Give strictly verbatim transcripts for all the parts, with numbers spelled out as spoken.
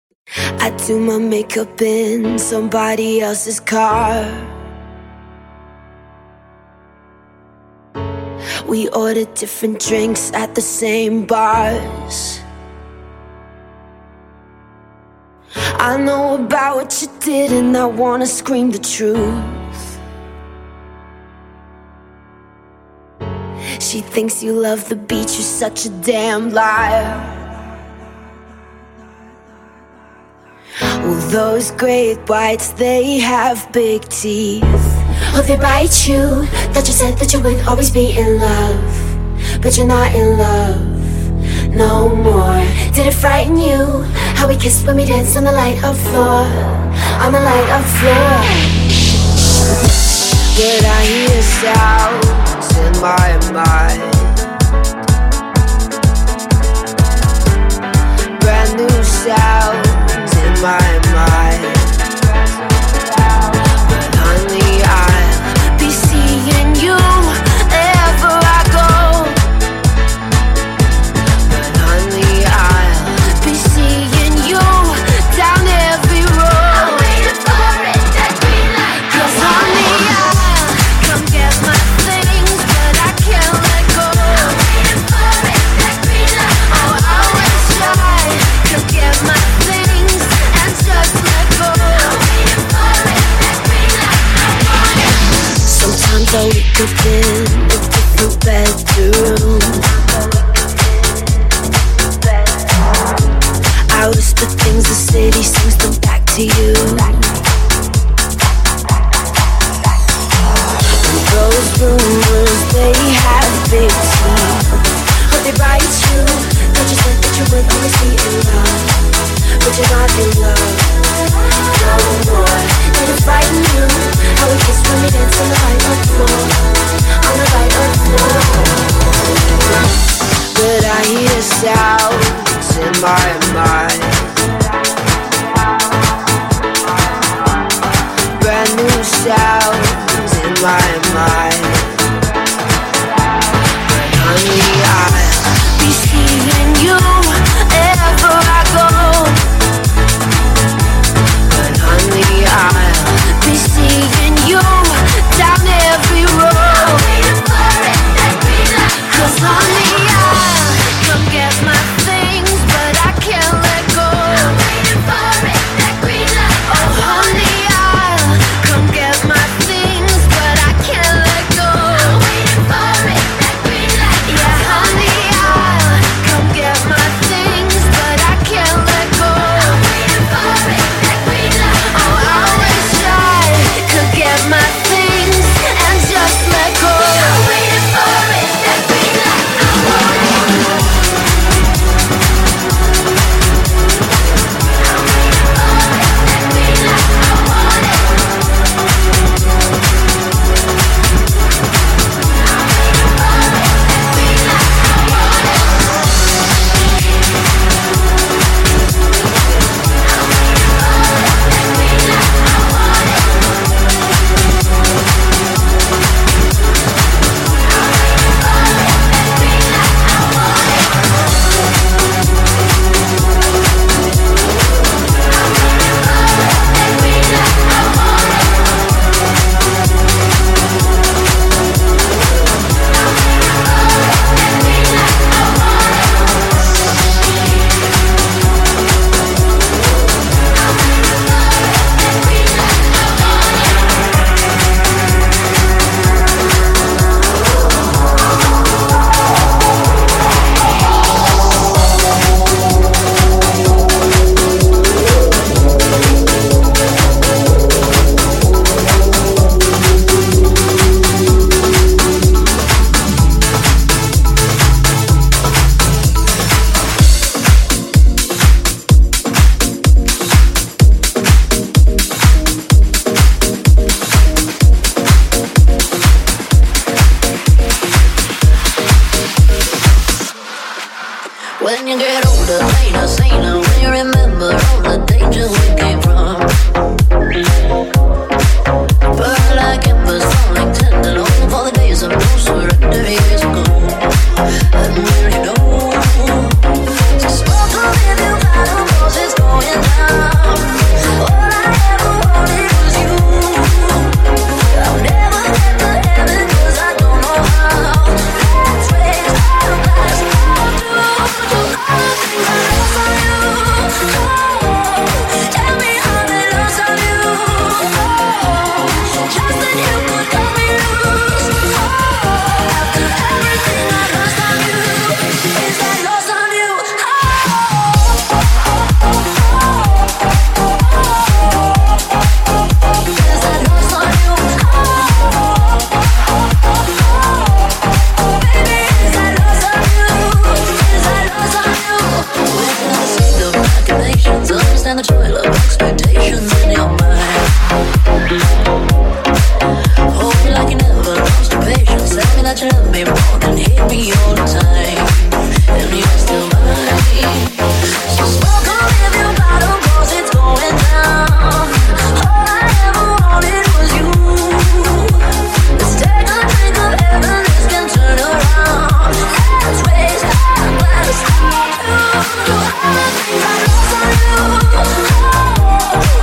I do my makeup in somebody else's car. We order different drinks at the same bars. I know about what you did and I wanna scream the truth. She thinks you love the beach, you're such a damn liar. Well, those great whites, they have big teeth. Oh, they bite you. Thought you said that you would always be in love, but you're not in love no more. Did it frighten you how we kissed when we danced on the light of floor, on the light of floor? But I hear sounds in my mind, brand new sounds in my mind. But honey, I'll be seeing you wherever I go. But honey, I'll be seeing you down every road. I'm waiting for it, that green light. 'Cause honey, I'll come get my things, but I can't let go. I'm waiting for it, that green light. Oh, I wish I could get my things and just let go. I'm waiting for it, that green light. I want it. Sometimes I wake up in a different bedroom. I whisper things the city sings them back to you. And those rumors, they have big teeth. Oh, they bite you. Thought you said that you would always be in love, but you're not in love no more. Did it frighten you how we kissed when we danced on the light of floor, on the light of floor? But I hear sounds in my mind, patience. Understand the toil of expectations in your mind. Hold me like you never lost your patience. Tell me that you love me more than hate me all the time. And you're still mine. So smoke on if you bottle, cause it's going down. All I ever wanted was you. Let's take a drink of heaven, this can turn around. Let's raise our glass to all the things I lost on you. Oh,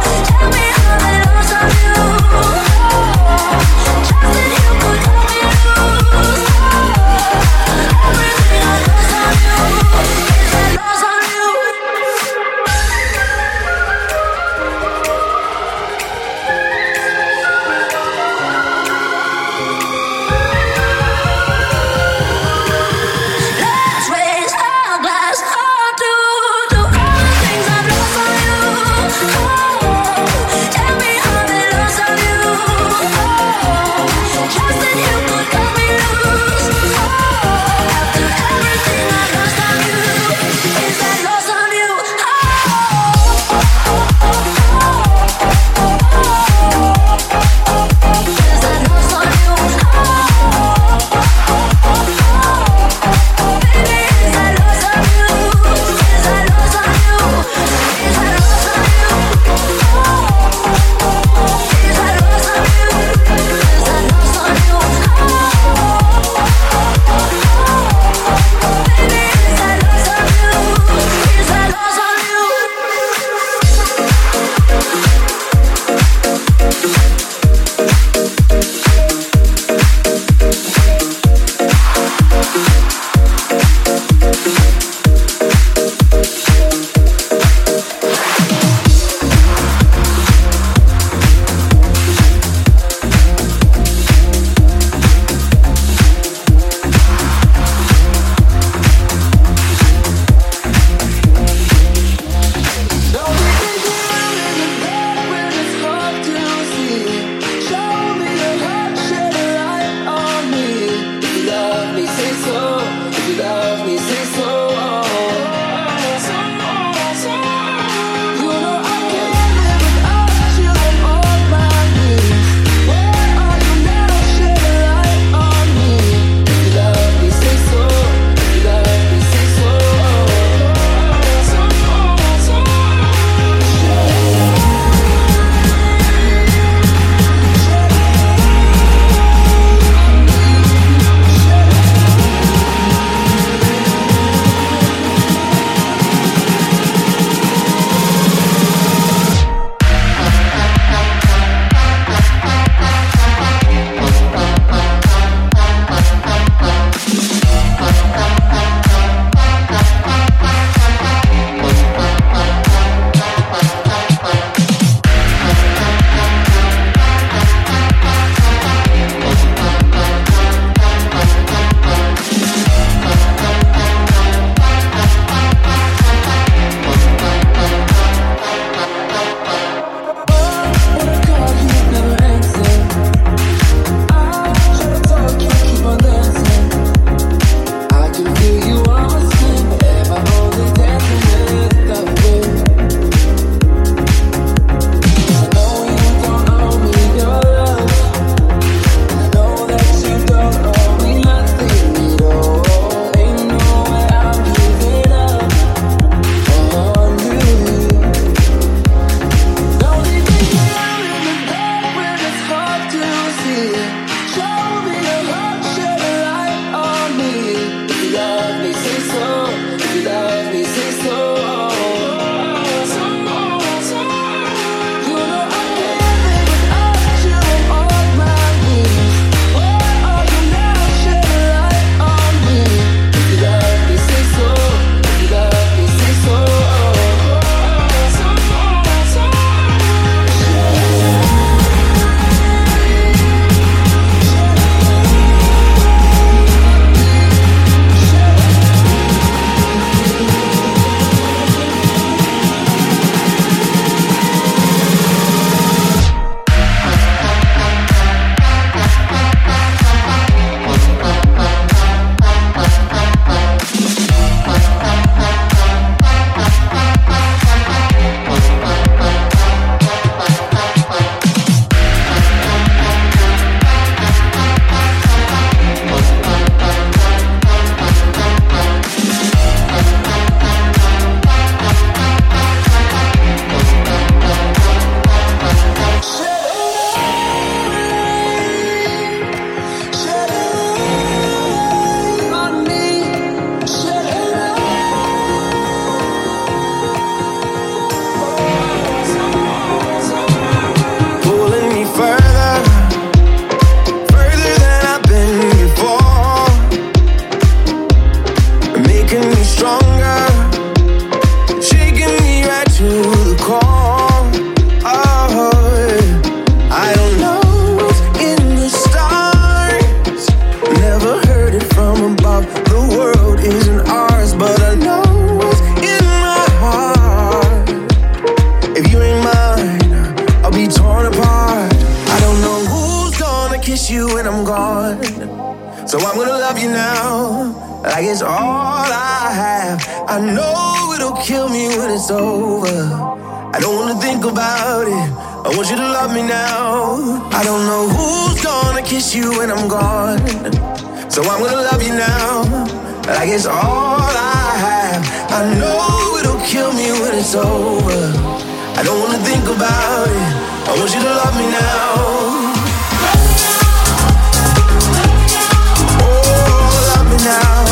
like it's all I have. I know it'll kill me when it's over. I don't wanna think about it. I want you to love me now. I don't know who's gonna kiss you when I'm gone, so I'm gonna love you now, like it's all I have. I know it'll kill me when it's over. I don't wanna think about it. I want you to love me now. Now,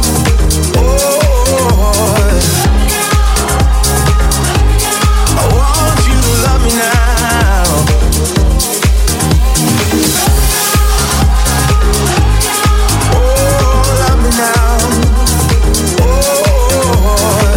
oh, I want you to love me now. Oh, love me now. Oh,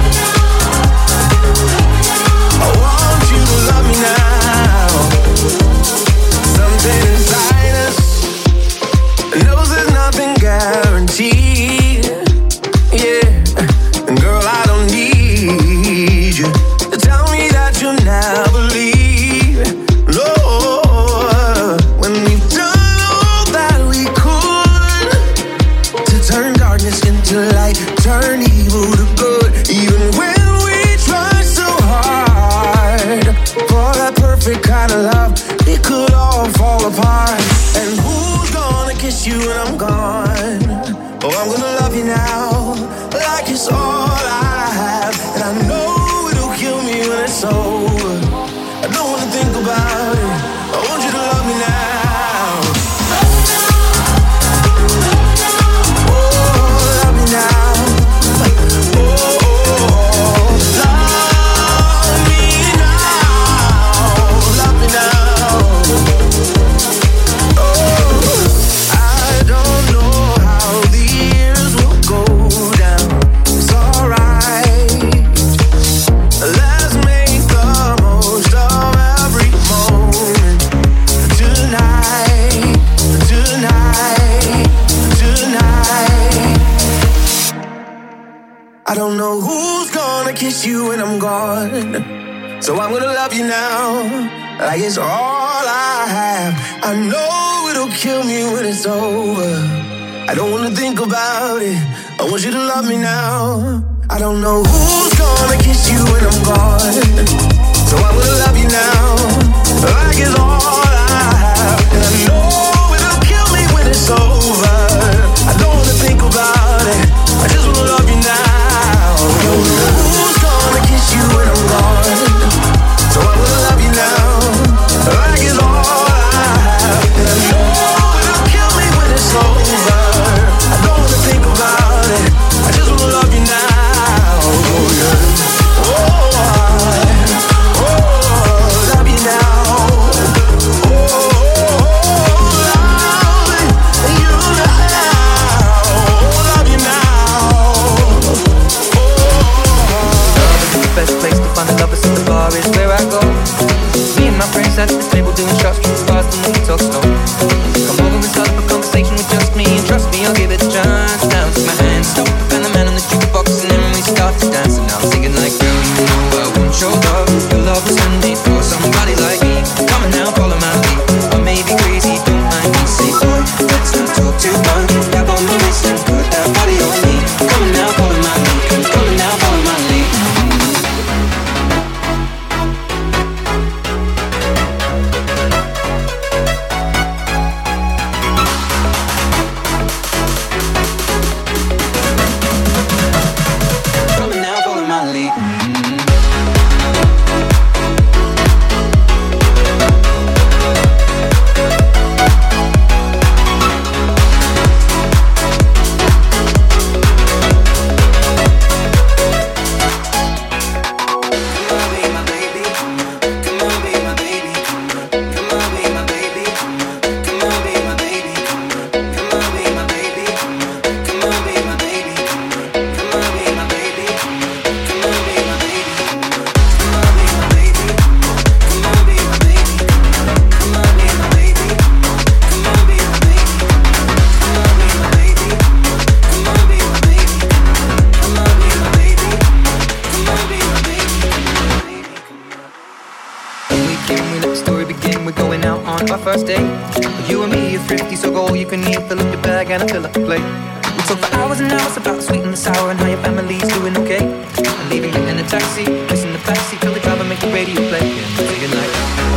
I want you to love me now. Something inside us knows there's nothing guaranteed, yeah. And girl, I don't need you to tell me that you'll never leave. No, when we've done all that we could to turn darkness into light, turn evil to good. Even when we try so hard for that perfect kind of love, it could all fall apart. And who's gonna kiss you when I'm gone? Oh, I'm gonna love you now, like it's all I have. And I know it'll kill me when it's over. I don't wanna think about it. I want you to love me now. Oh, love me now. Oh, love me now. Love me now. I don't know how the years will go down. It's alright. Let's make the most of every moment. Tonight, tonight, tonight. I don't know who's gonna kiss you when I'm gone, so I'm gonna love you now, like it's all I have. I know it'll kill me when it's over. I don't wanna think about it. I want you to love me now. I don't know who's gonna kiss you when I'm gone, so I'm gonna love you now, like it's all I have. And I know it'll kill me when it's over. I don't wanna think about it. I just wanna love you now. I don't know who's gonna kiss you when I'm gone, so I'm gonna love you now, like it's all I have. And I know it'll kill me when it's over. I don't wanna think about it. I just wanna love you now. Oh yeah. Oh, I, oh, love you now. Oh, love you now. Love you now. Love is the best place to find the lovers at the bar is where I go. Me and my friends at the table doing shots, drink fast and we talk slow. Come over and start up a conversation with just me, and trust me, I'll give it a chance. Now take my hand, stop and the man on the jukebox, and then we start to dance. And I'm singing like, girl, you know I want your love. Your love was handmade for somebody like me. Come on now, follow my lead. I may be crazy, don't mind me. Say, boy, let's not talk too much. Grab on my wrist and put that body on me. Come on now, follow my lead. Come on now, follow my lead. We talk for hours and hours about the sweet and the sour and how your family's doing okay. And leaving you in a taxi, placing the backseat, tell the driver make the radio play. Yeah, say goodnight.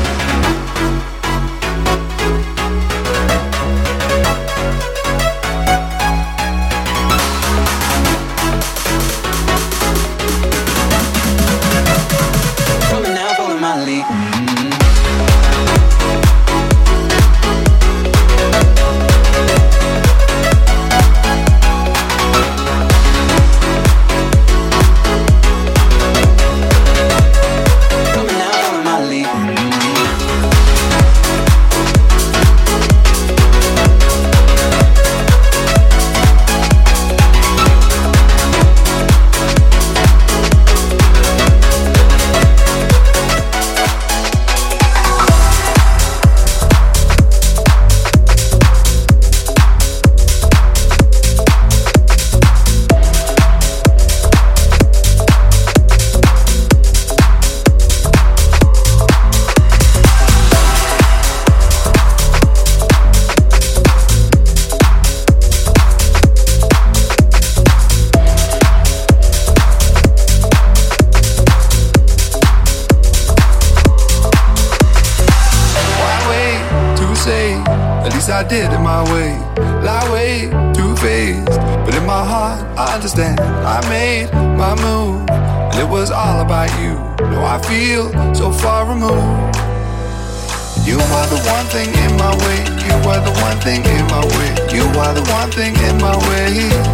I did it my way, lie way, two-faced, but in my heart I understand. I made my move, and it was all about you. No, I feel so far removed. You are the one thing in my way. You are the one thing in my way. You are the one thing in my way.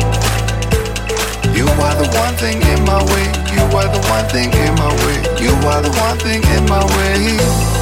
You are the one thing in my way. You are the one thing in my way. You are the one thing in my way.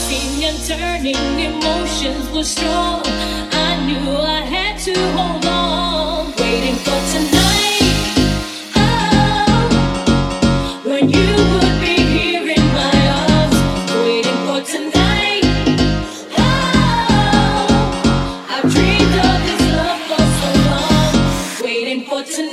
tossing and turning, emotions were strong. I knew I had to hold on, waiting for tonight. Oh, when you would be here in my arms, waiting for tonight. Oh, I've dreamed of this love for so long, waiting for tonight.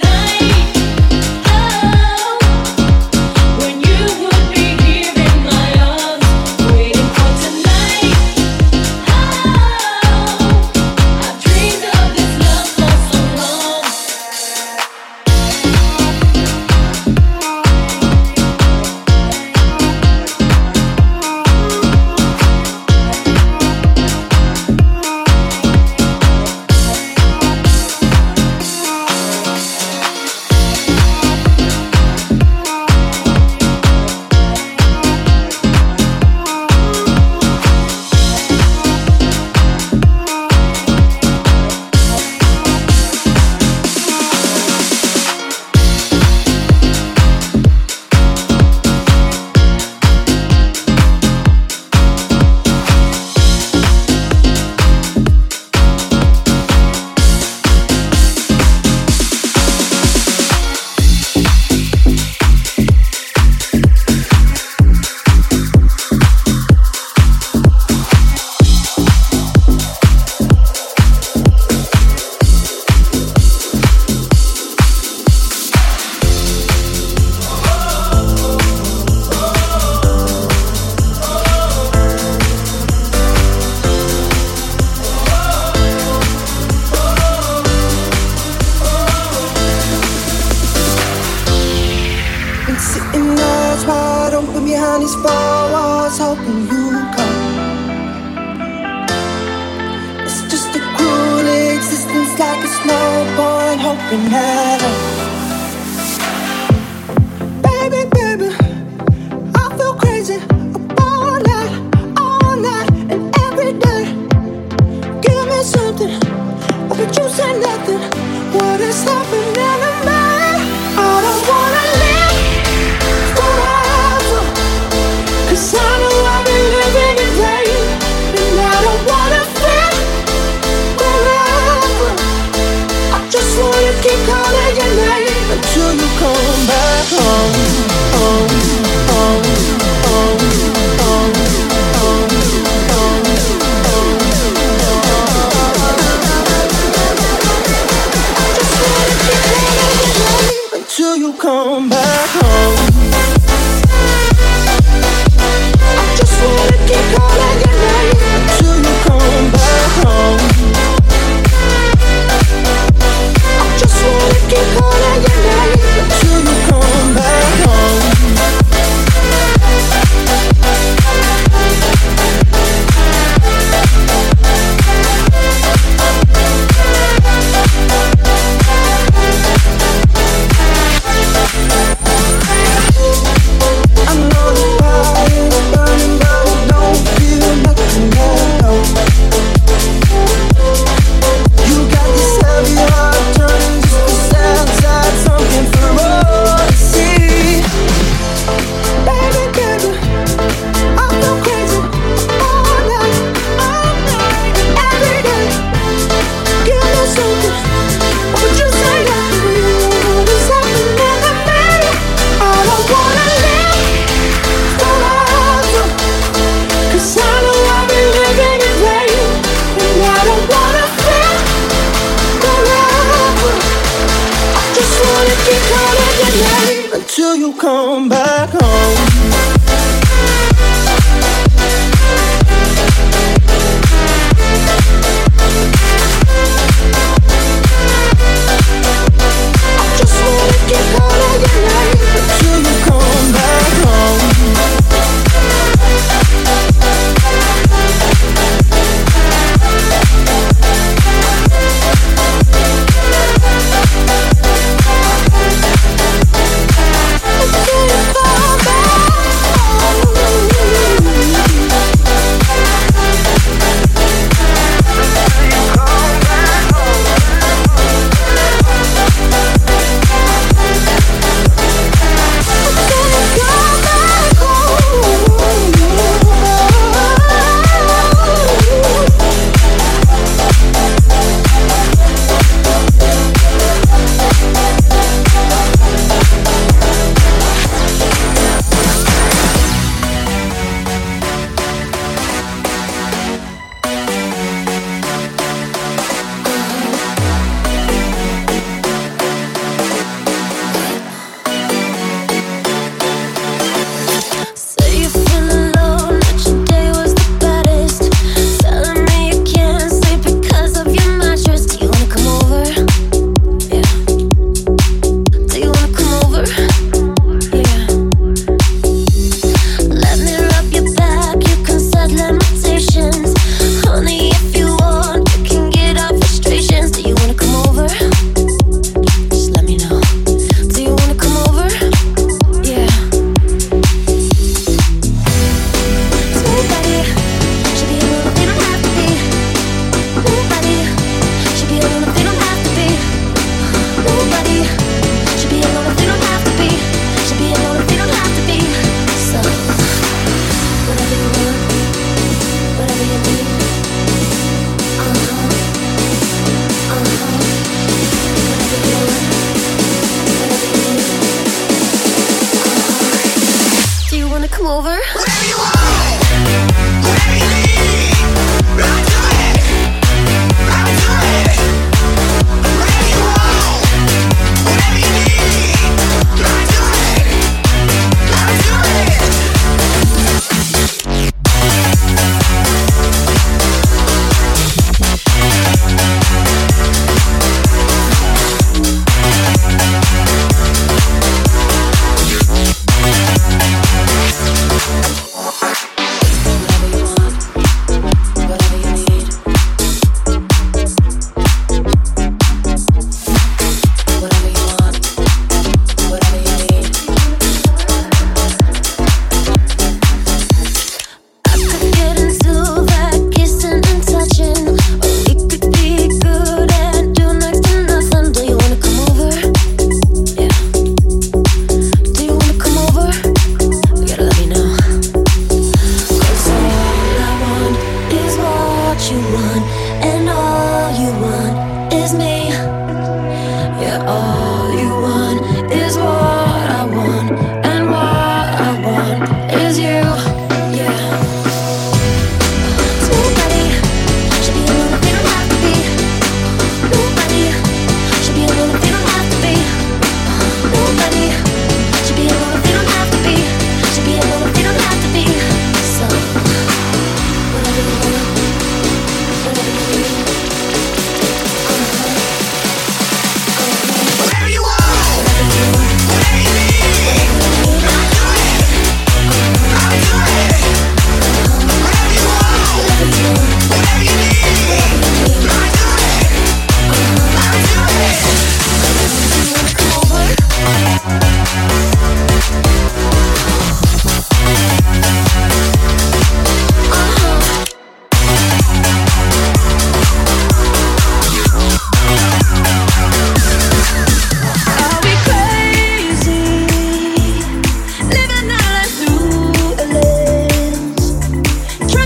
Come back.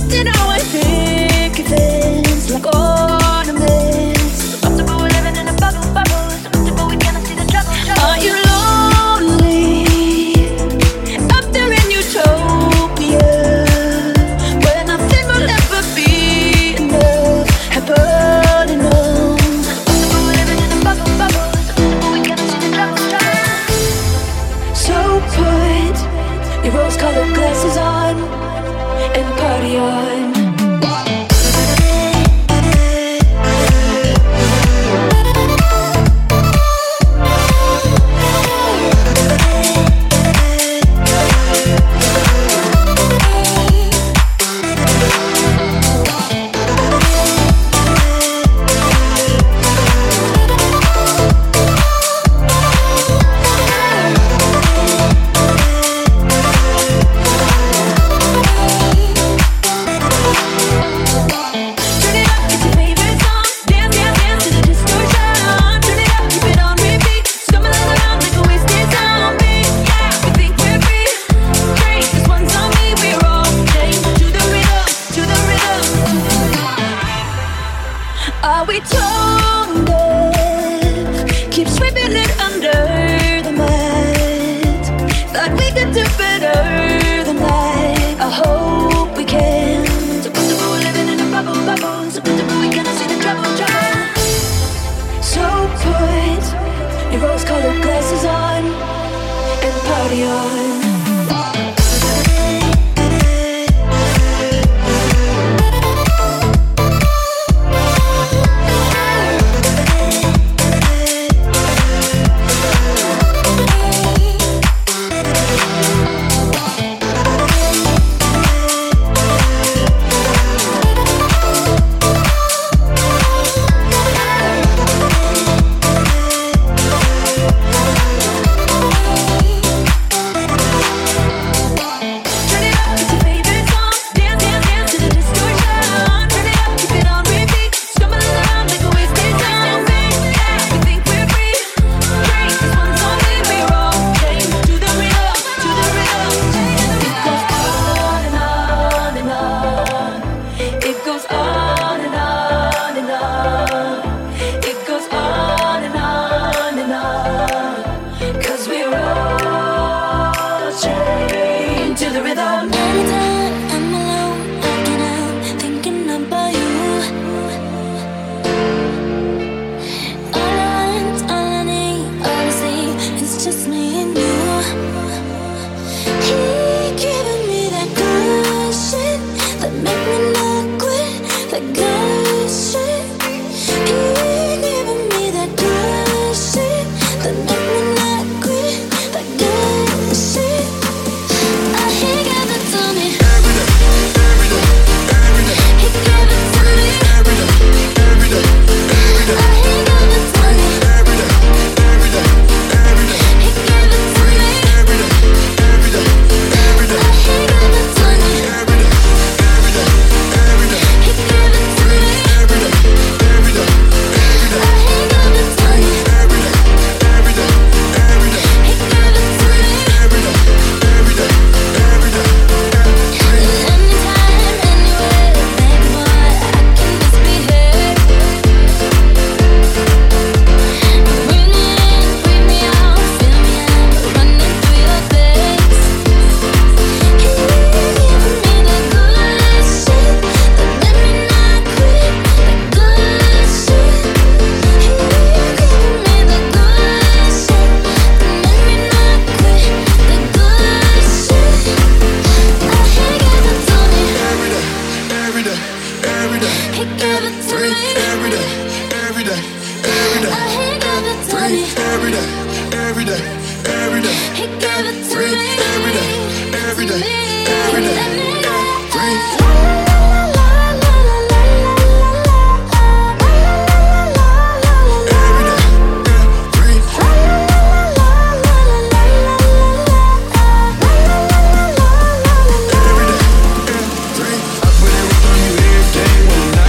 You know I think of things like ornaments. So comfortable we're living in a bubble, bubble. So comfortable we cannot see the trouble, trouble. Are you lonely up there in utopia, where nothing will ever be enough, happening on? So comfortable we're living in a bubble, bubble. So comfortable we cannot see the trouble, trouble. So put your rose-colored glasses on and party on. Are we tone deaf? Keep sweeping it under the mat. Thought we could do better than that. I hope we can. So comfortable we're living in a bubble, bubble. So comfortable we cannot see the trouble, trouble. So put your rose-colored glasses on and party on. When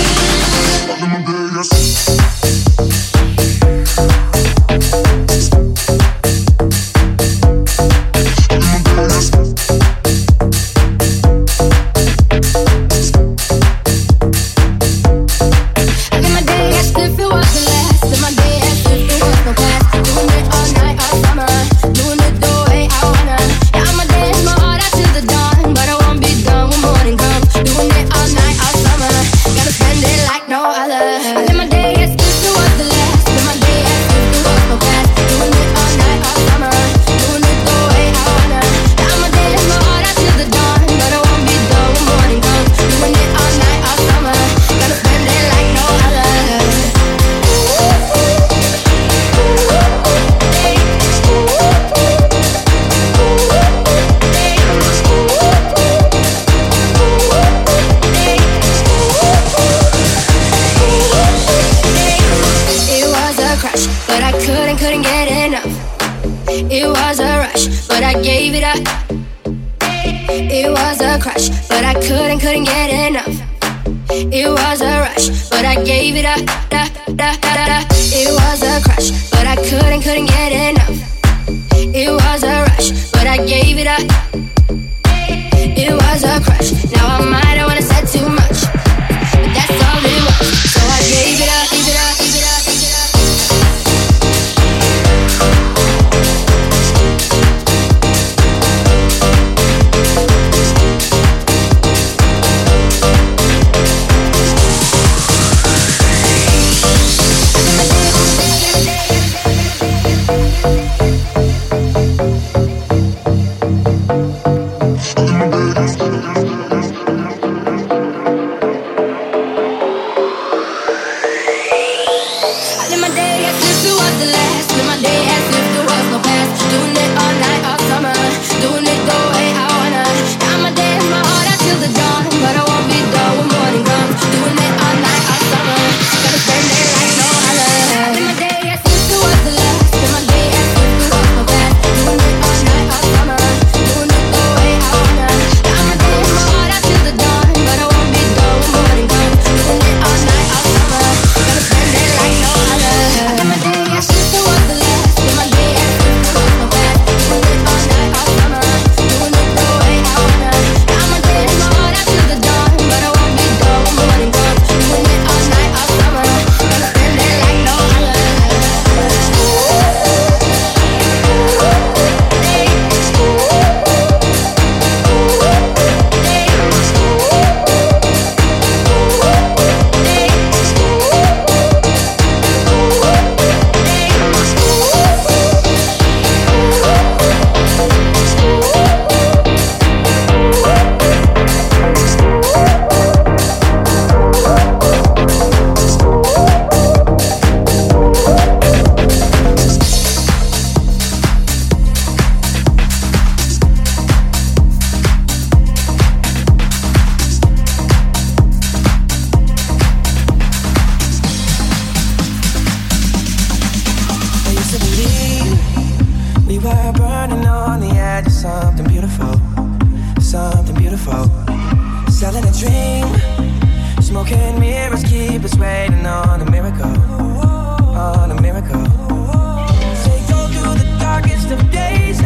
Days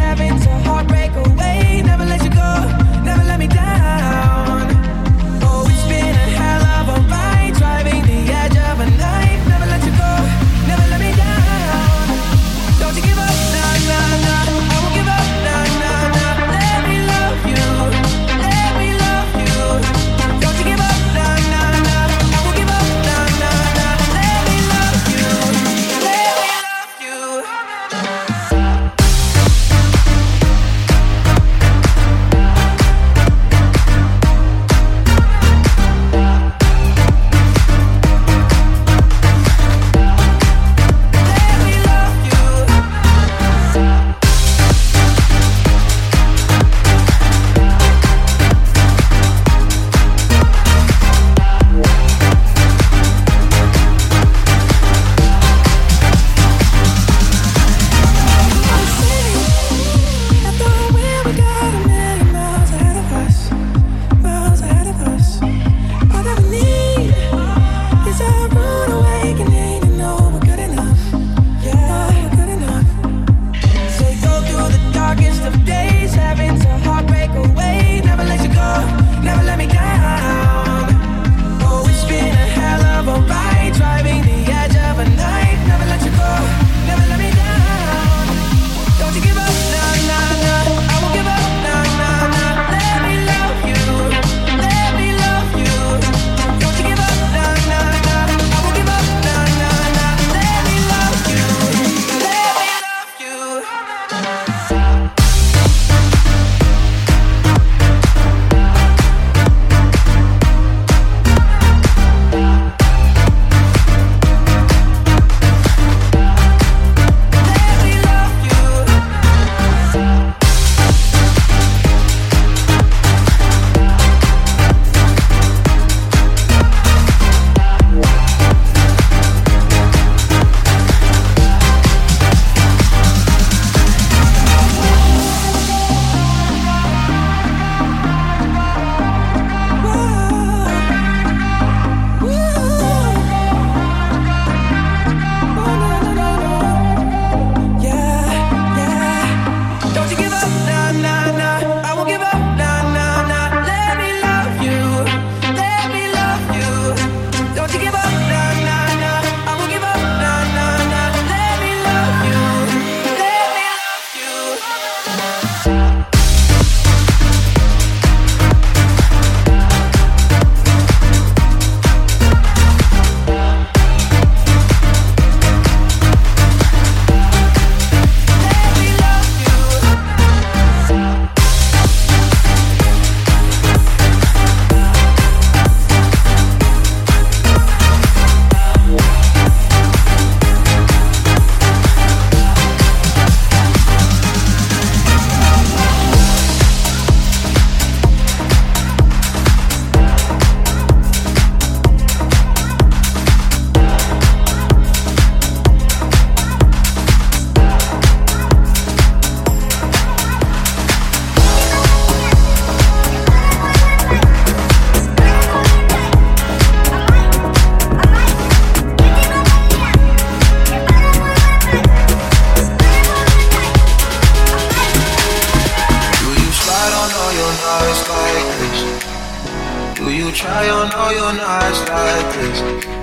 try on all your nights like this?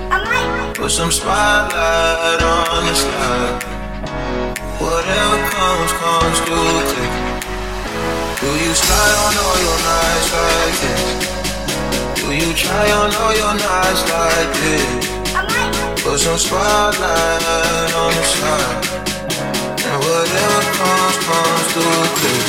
Put some spotlight on the slide. Whatever comes, comes through quick. Do you slide on all your nights like this? Do you try on all your nights like this? Put some spotlight on the slide. And whatever comes, comes through quick.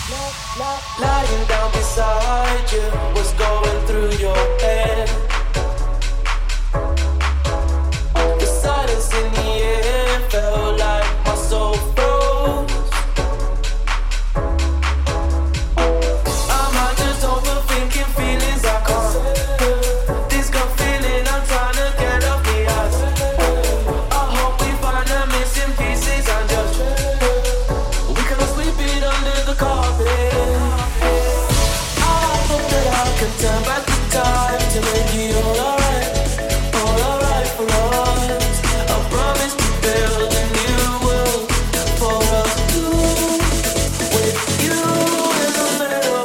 Lying down beside you, what's going through your head? turn back the time to make it all alright, all alright for us. I promise to build a new world for us two, with you in the middle.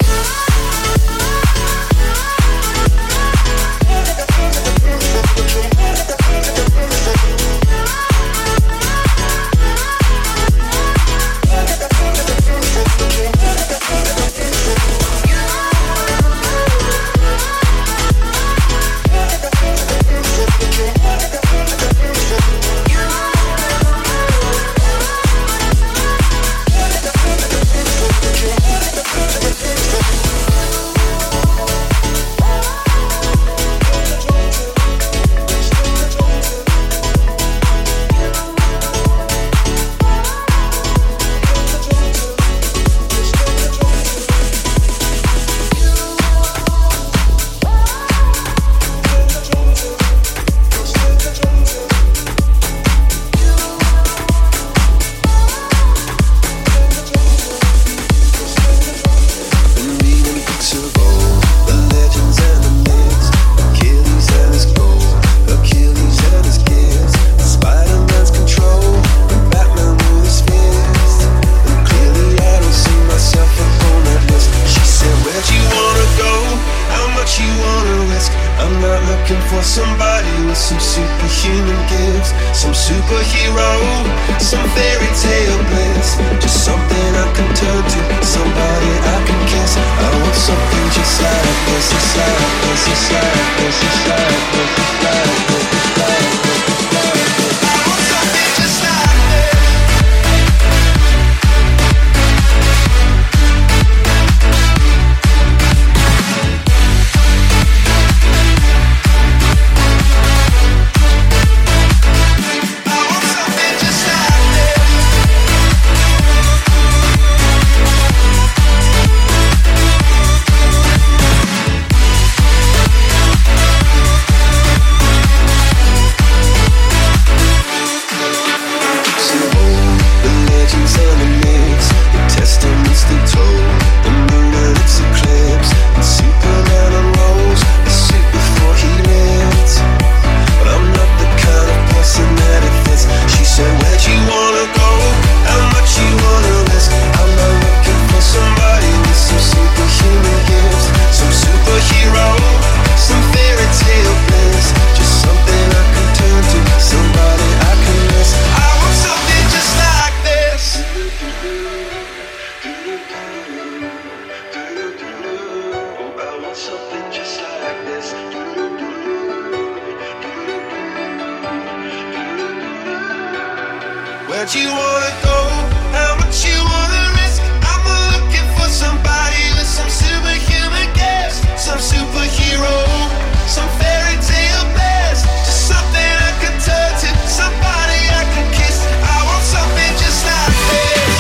Where'd you wanna go? How much you wanna risk? I'm looking for somebody with some superhuman gifts, some superhero, some fairy tale bliss, just something I can turn to, somebody I can kiss. I want something just like this.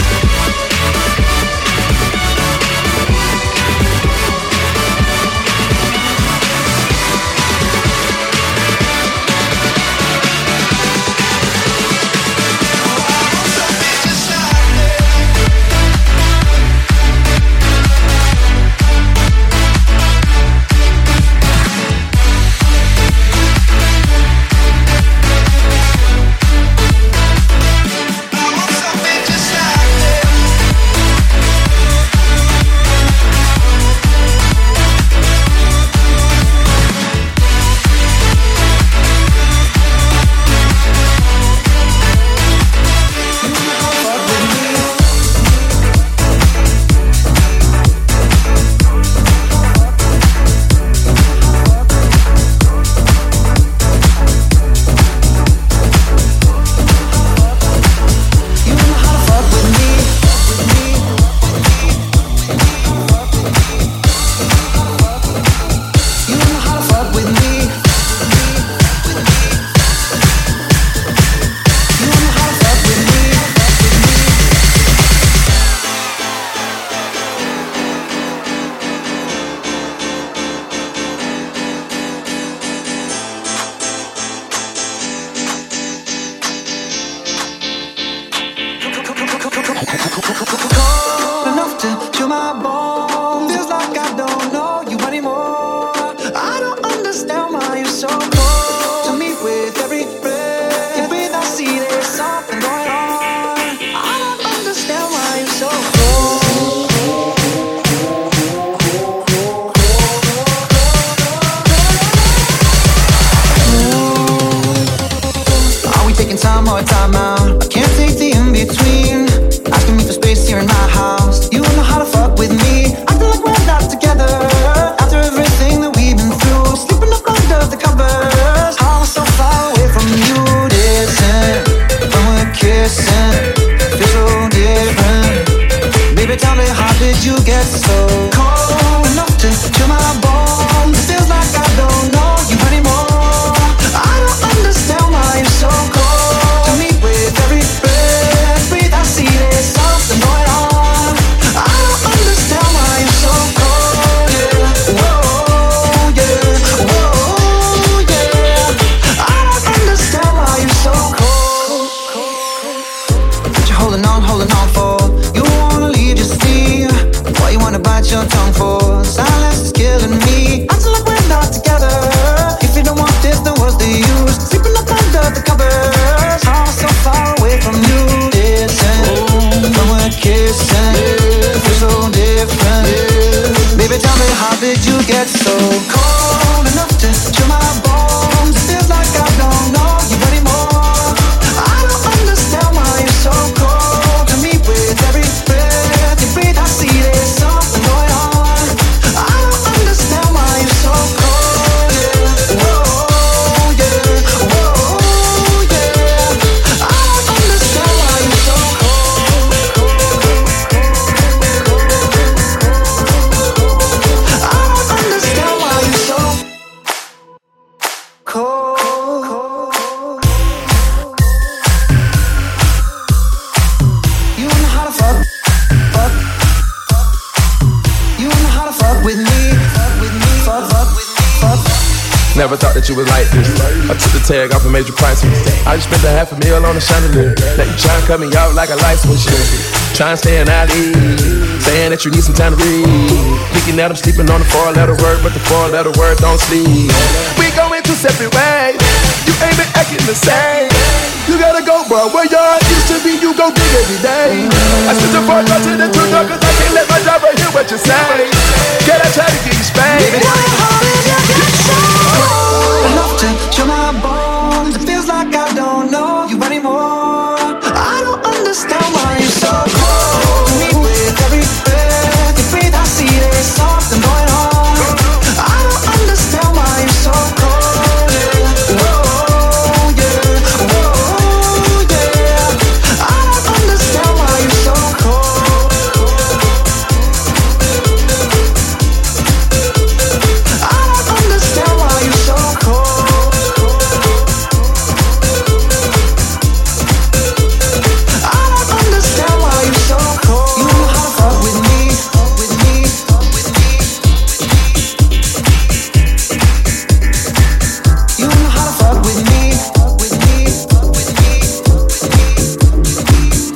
Enough to chill my bones. Feels like I don't know you anymore. get so cold enough to chill my bones? It feels like I don't know you anymore. I don't understand why you're so cold to me. With every breath, breathe, I see there's something going on. I don't understand why you're so cold, yeah. Whoa, yeah, whoa, yeah. I don't understand why you're so cold. What you holding on, holding on for? You wanna leave, just see. Why you wanna bite your tongue for? Silence is killing me. Acting like we're not together. If you don't want this, then what's the use? Sleeping up under the covers. I'm so far away from you. Listen, when we're kissing, it feels so different. Baby, tell me, how did you get so cold enough to chill my bones? It feels like I don't know you anymore. I don't understand why you're so cold to me. With every breath you breathe, I see there's something going on. I don't understand why you're so cold, yeah. Whoa, yeah, whoa, yeah. I don't understand why you're so cold. I don't understand why you're so cold. You know how to fuck, fuck. You know how to fuck with me, fuck with me, fuck, fuck with me, fuck. Never thought that you was like this. I took the tag off and made you priceless. I just spent a half a meal on a chandelier. Now you try and cut me out like a light switch. Try and stay an alley, saying that you need some time to read. Thinking that I'm sleeping on the four-letter word, but the four-letter word don't sleep. We going two separate ways. You ain't been acting the same. You gotta go, bro. Where y'all used to be, you go big every day. I switch the four to the two door, cause I can't let my driver hear what you say. Can I try to get you spanked? Baby, how did you get so cold enough to chill my bones? It feels like I don't know you anymore. I don't understand why you're so cold to me. With every breath you breathe, I see there's something going on. I don't understand why you're so cold, yeah. Whoa, yeah, whoa, yeah. I don't understand why you're so cold. I don't understand why you're so cold. I don't understand why you're so cold. You know how to fuck with me, fuck with me, fuck with me. You know how to fuck with me, fuck with me, fuck with me, fuck with me.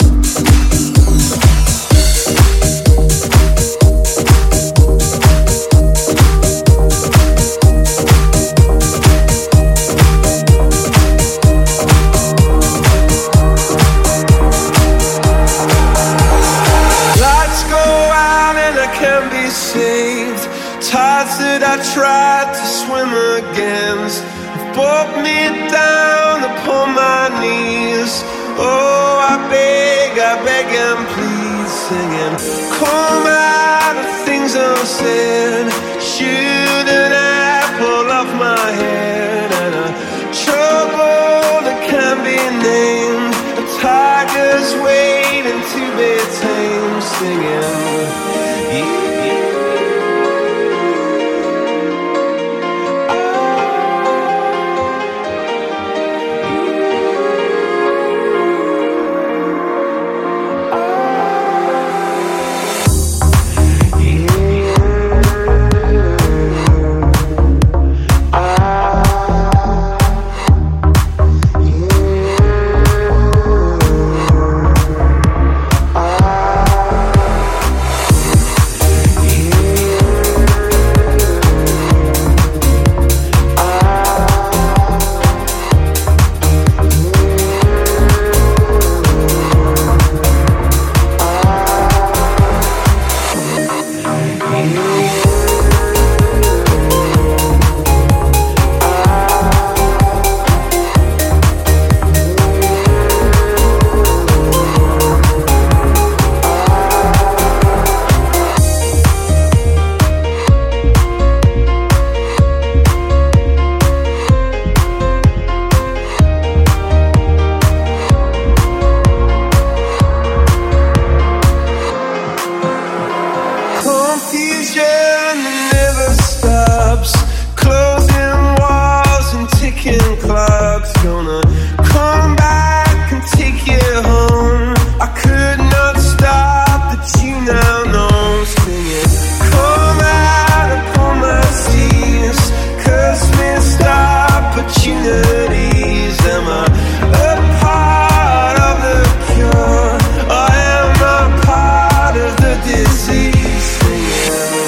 Lights go out and I can't be saved. Tides that I tried to swim against brought me down upon my knees. Oh, I beg, I beg and please, singing, come out of things unsaid. Shouldn't I pull off my head? And a trouble that can't be named. A tiger's waiting to be tamed, singing. confusion that never stops. Closing walls and ticking clocks. Gonna come back and take you home. I could not stop the tune now, no. Singing, come out upon my seas. Curse missed opportunities. Am I a part of the cure? Or am I part of the disease? Singing,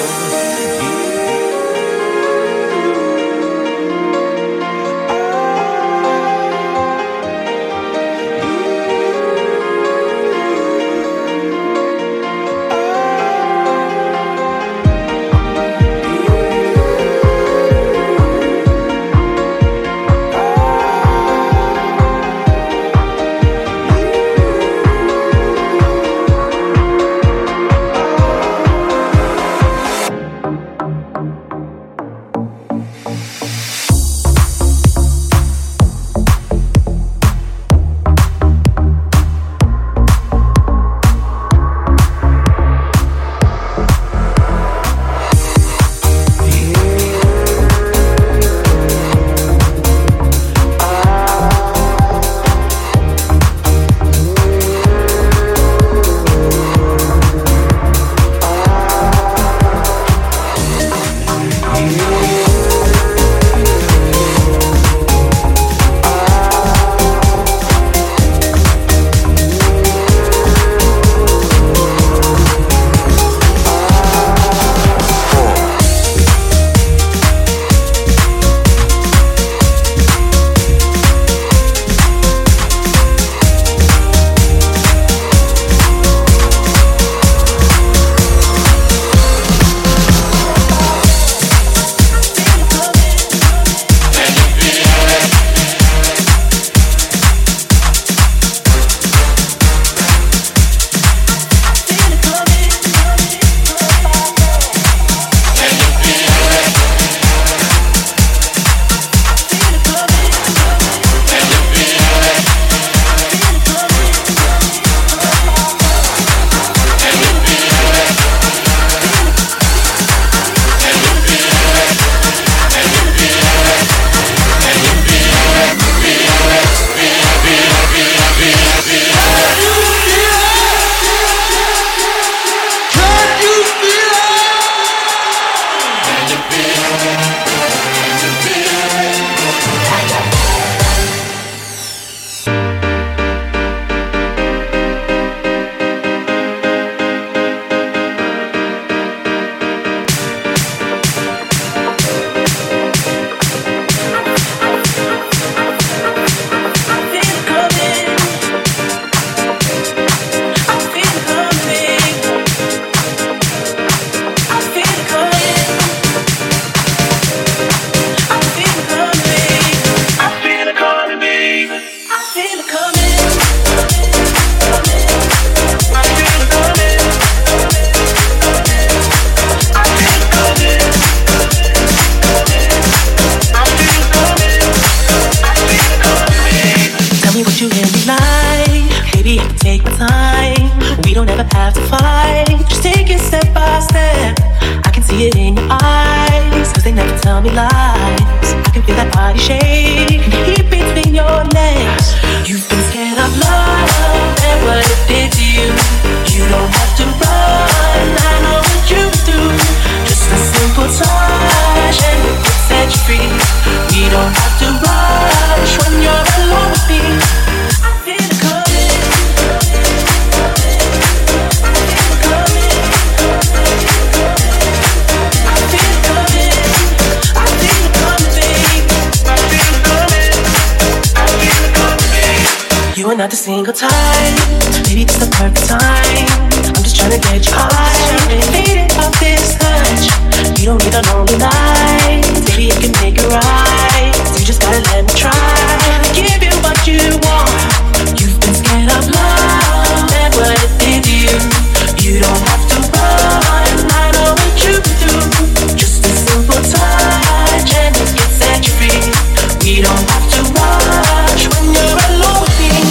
not a single time. Maybe it's the perfect time. I'm just trying to get you high. Faded off this touch. You don't need a lonely night. Maybe I can make it right. You just gotta let me try. Give you what you want. You've been scared of love and what it did to you. You don't have to run. I know what you do. Just a simple touch and it can set you free. We don't have to rush when you're alone with me.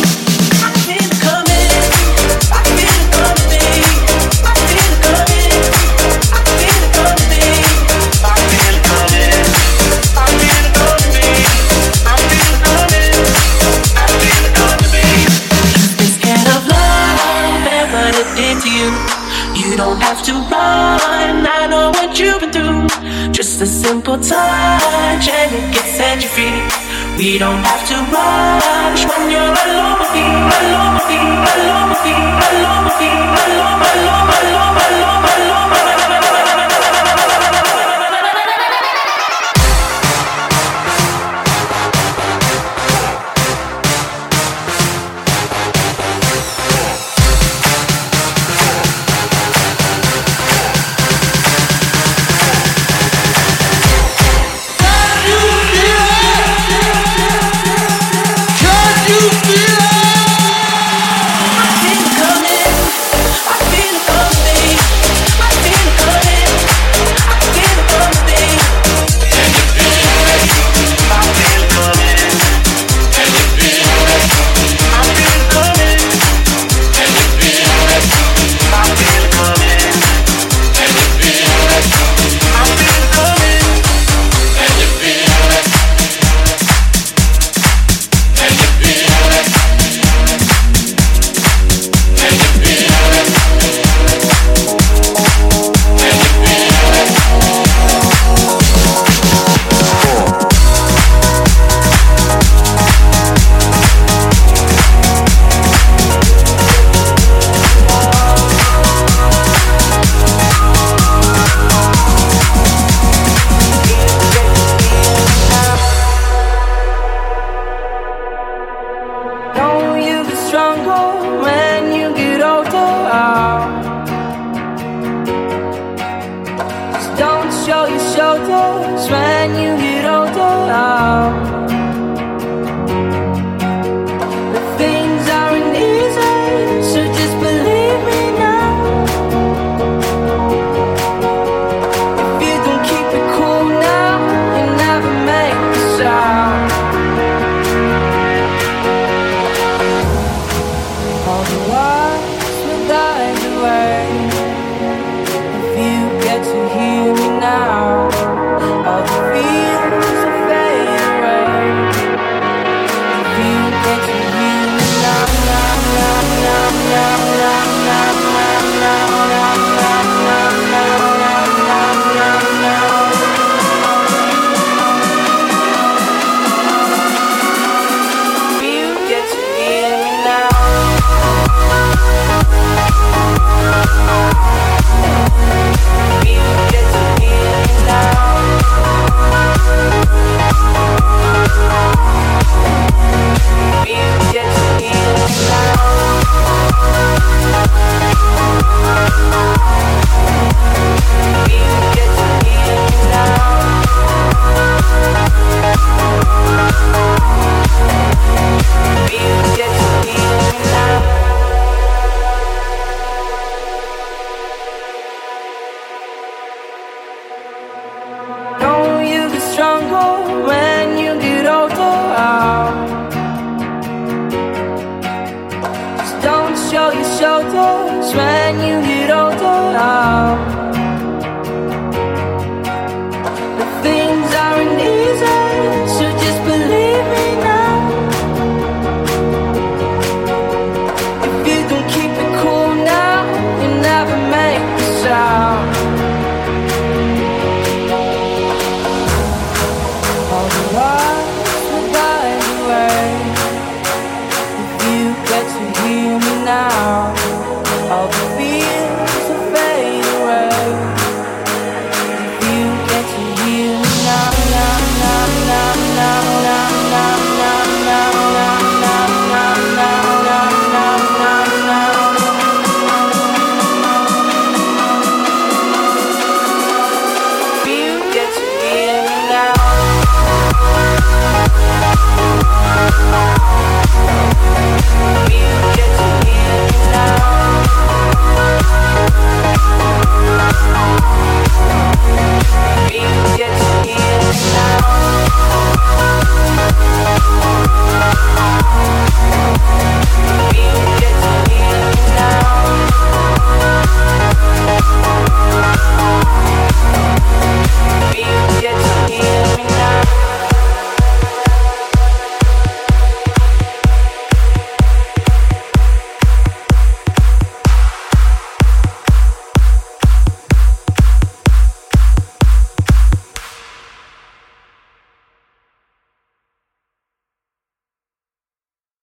I feel it coming. I feel it coming, babe. I feel it coming. Just a simple touch and it can set you free. We don't have to rush when you're alone with me, alone with me, alone with me, alone with me, alone, alone, alone, alone, alone, alone. Show your shoulders when you get older.